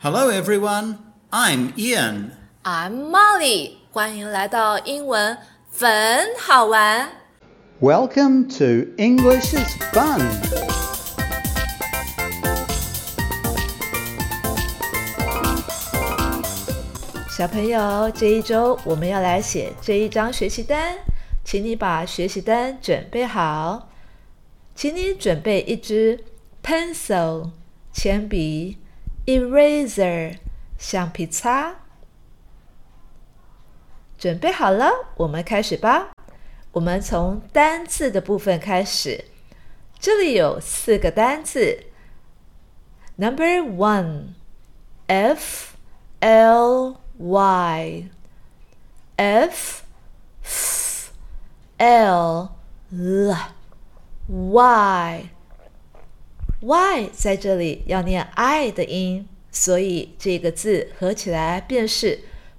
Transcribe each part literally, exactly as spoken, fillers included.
Hello everyone, I'm Ian. I'm Molly. 欢迎来到英文粉好玩。 Welcome to English is Fun. 小朋友，这一周我们要来写这一张学习单，请你把学习单准备好。请你准备一支 pencil 铅笔 eraser 橡皮擦。准备好了，我们开始吧。我们从单字的部分开始，这里有四个单字。Number one, F L Y F F L L Y Y 在这里要念 I 的音，所以这个字合起来便是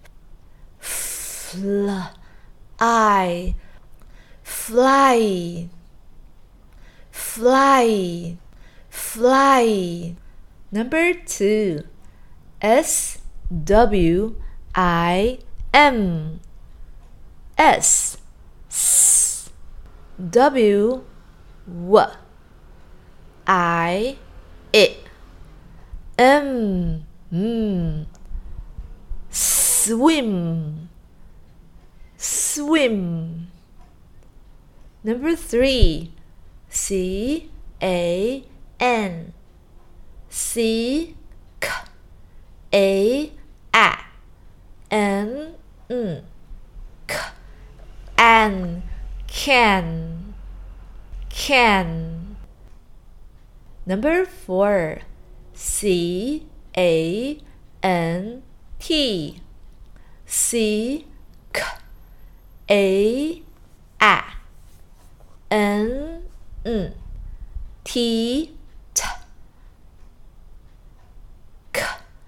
fl I fly fly fly. Number two, S W I M S S W W I I M M swim swim. Number three, C A N C K A N N K An can can. Number four, C A N T C K A N N T T K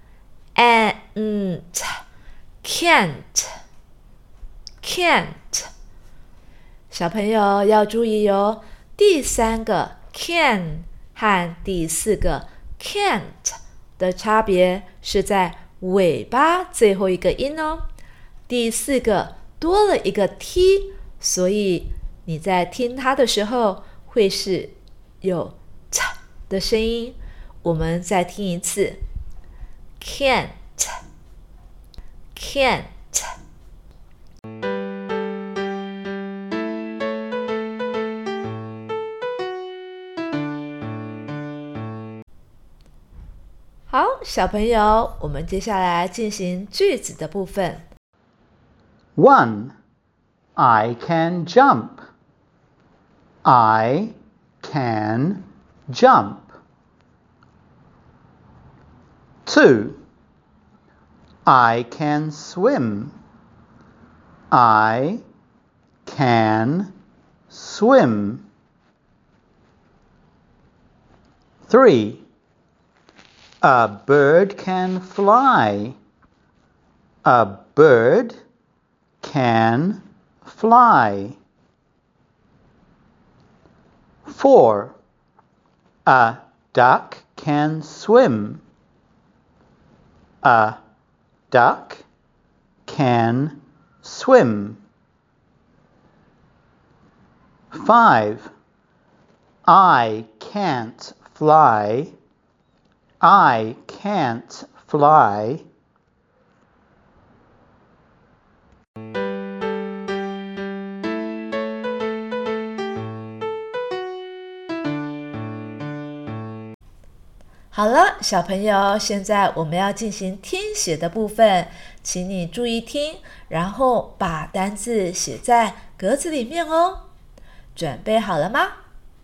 N T can't can't. 小朋友要注意哦，第三个 can 和第四个 can't 的差别是在尾巴最后一个音哦。第四个多了一个 t， 所以你在听它的时候会是有 t 的声音。我们再听一次 can't can't。 好，小朋友，我们接下来进行句子的部分。 One, I can jump. I can jump. Two, I can swim. I can swim. Three, a bird can fly. A bird can fly. Four, a duck can swim. A duck can swim. Five, I can't fly. I can't fly. 好了，小朋友，现在我们要进行听写的部分，请你注意听，然后把单字写在格子里面哦。准备好了吗？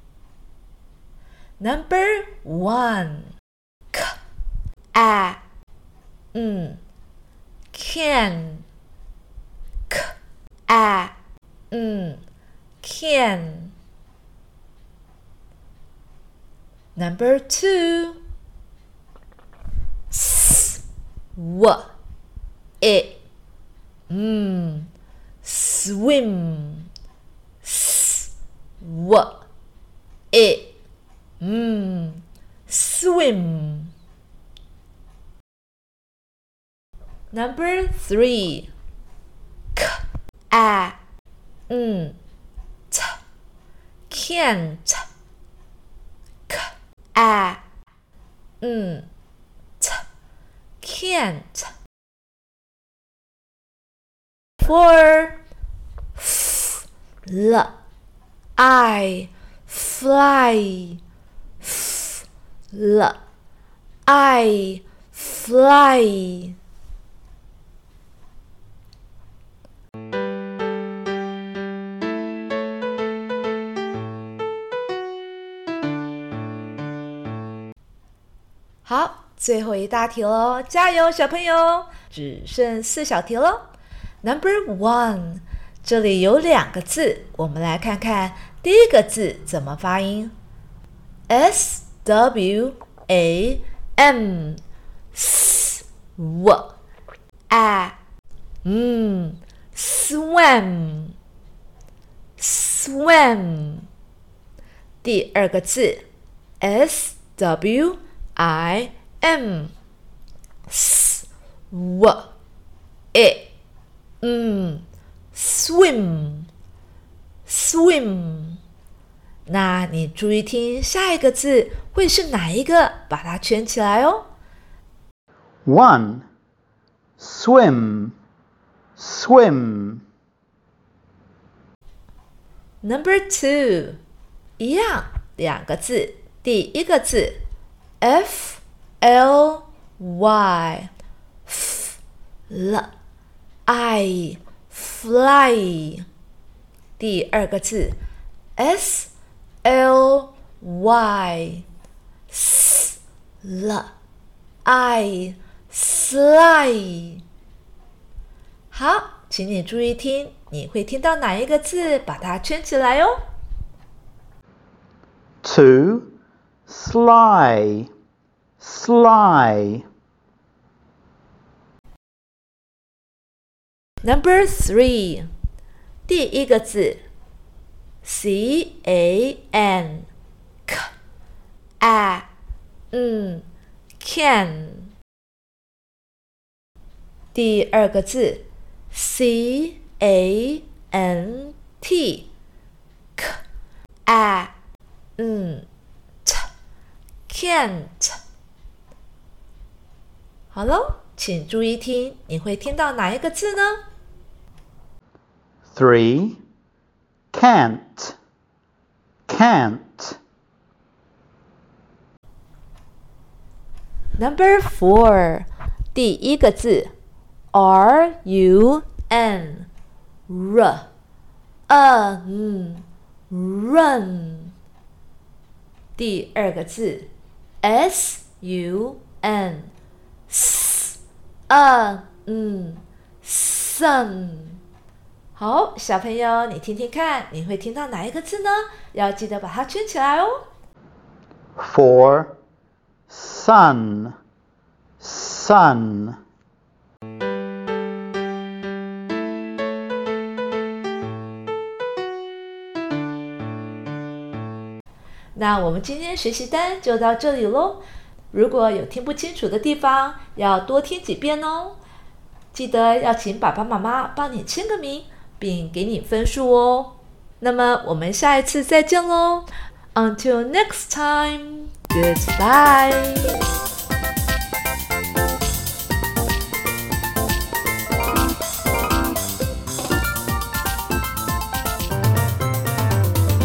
Number one, K A N can K A N can. Number two, S W I M swim S W I M swim. Number three. K, a, n, t, can't. K, a, n, t, can't. Four. F, l, I, fly. F, l, I, fly.好，最后一大题咯，加油小朋友，只剩四小题咯。Number one， 这里有两个字，我们来看看第一个字怎么发音。S W A M S W A M swam swam。第二个字 S W I M S W A M swim swim。那你注意听下一个字会是哪一个，把它圈起来哦。 One, swim, swim. Number two， 一样，两个字，第一个字 F L Y F L I fly。第二个字 S L Y S L I sly。 好，请你注意听，你会听到哪一个字，把它圈起来哦。 Two, sly, sly. Number three， 第一个字 C A N K A N can。 第二个字 C A N T K A N T can't。 好咯，请注意听，你会听到哪一个字呢？ Three, can't, can't. Number four， 第一个字 R U N R N run。 第二个字 S U N S N sun。 好，小朋友，你听听看，你会听到哪一个字呢？要记得把它圈起来哦。 Four, sun, sun. 那我们今天学习单就到这里咯。如果有听不清楚的地方，要多听几遍哦。记得要请爸爸妈妈帮你签个名，并给你分数哦。那么我们下一次再见咯。Until next time, goodbye.